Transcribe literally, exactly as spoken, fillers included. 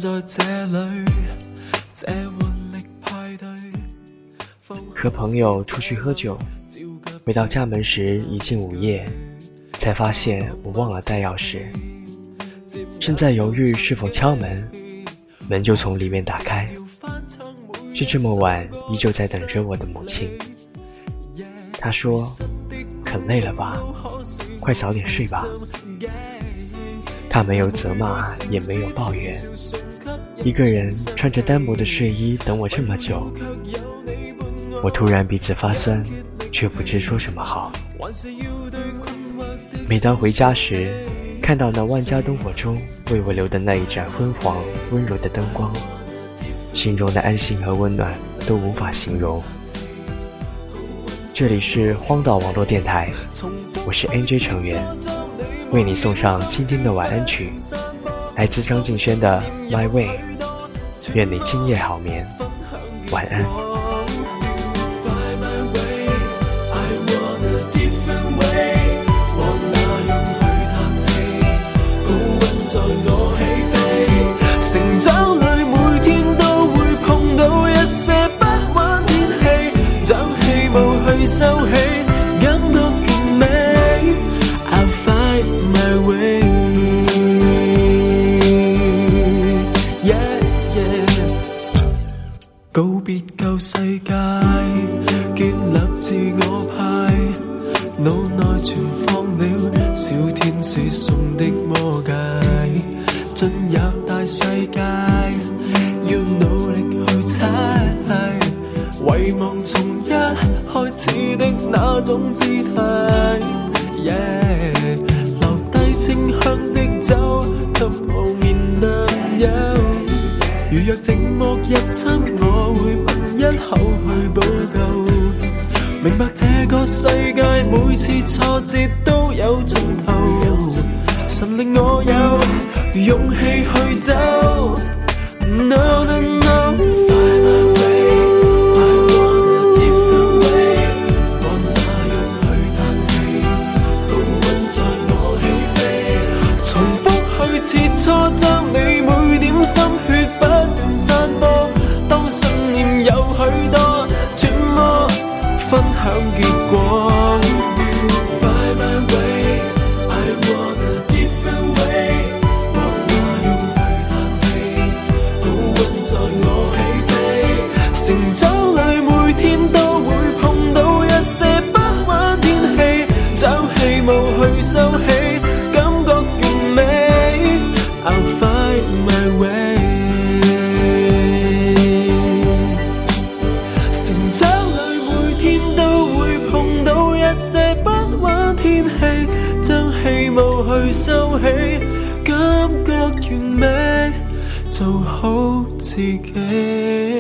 和朋友出去喝酒，回到家门时已近午夜，才发现我忘了带钥匙。正在犹豫是否敲门，门就从里面打开，是这么晚依旧在等着我的母亲。她说：“很累了吧，快早点睡吧。”她没有责骂，也没有抱怨，一个人穿着单薄的睡衣等我这么久。我突然鼻子发酸，却不知说什么好。每当回家时，看到那万家灯火中为我留的那一盏昏黄温柔的灯光，心中的安心和温暖都无法形容。这里是荒岛网络电台，我是 N J 成员，为你送上今天的晚安曲，来自张敬轩的 My Way。 愿你今夜好眠，晚安。 成長裏每天都會碰到一些不穩天氣，將氣霧去收起，感覺完美。I'll find my way。 Yeah, yeah。 告別舊世界，建立自我派，腦內存放了小天使送的魔戒，進入大世界，要努力去猜，遺忘從一開始的那種姿態。Yeah， 留低清香的酒，給後面男友。如若寂寞入侵，我會吻一口去補救。明白這個世界每次挫折都有盡頭，神令我有勇氣去走。 No, no, no。 Find my way, I want a different way。 往那樣去嘆氣，高溫在我起飛，重複去切磋，將你每點心血不斷散播。當信念有許多，揣摩分享結果。Find my way, I want a different way。 往那樣去嘆氣，高溫在我起飛。成長裏每天都會碰到一些不穩天氣，將氣霧去收起，感覺完美。I'll find my way。 成長裏每天都會碰到一些不穩天氣，將氣霧去收起，感覺完美，做好自己。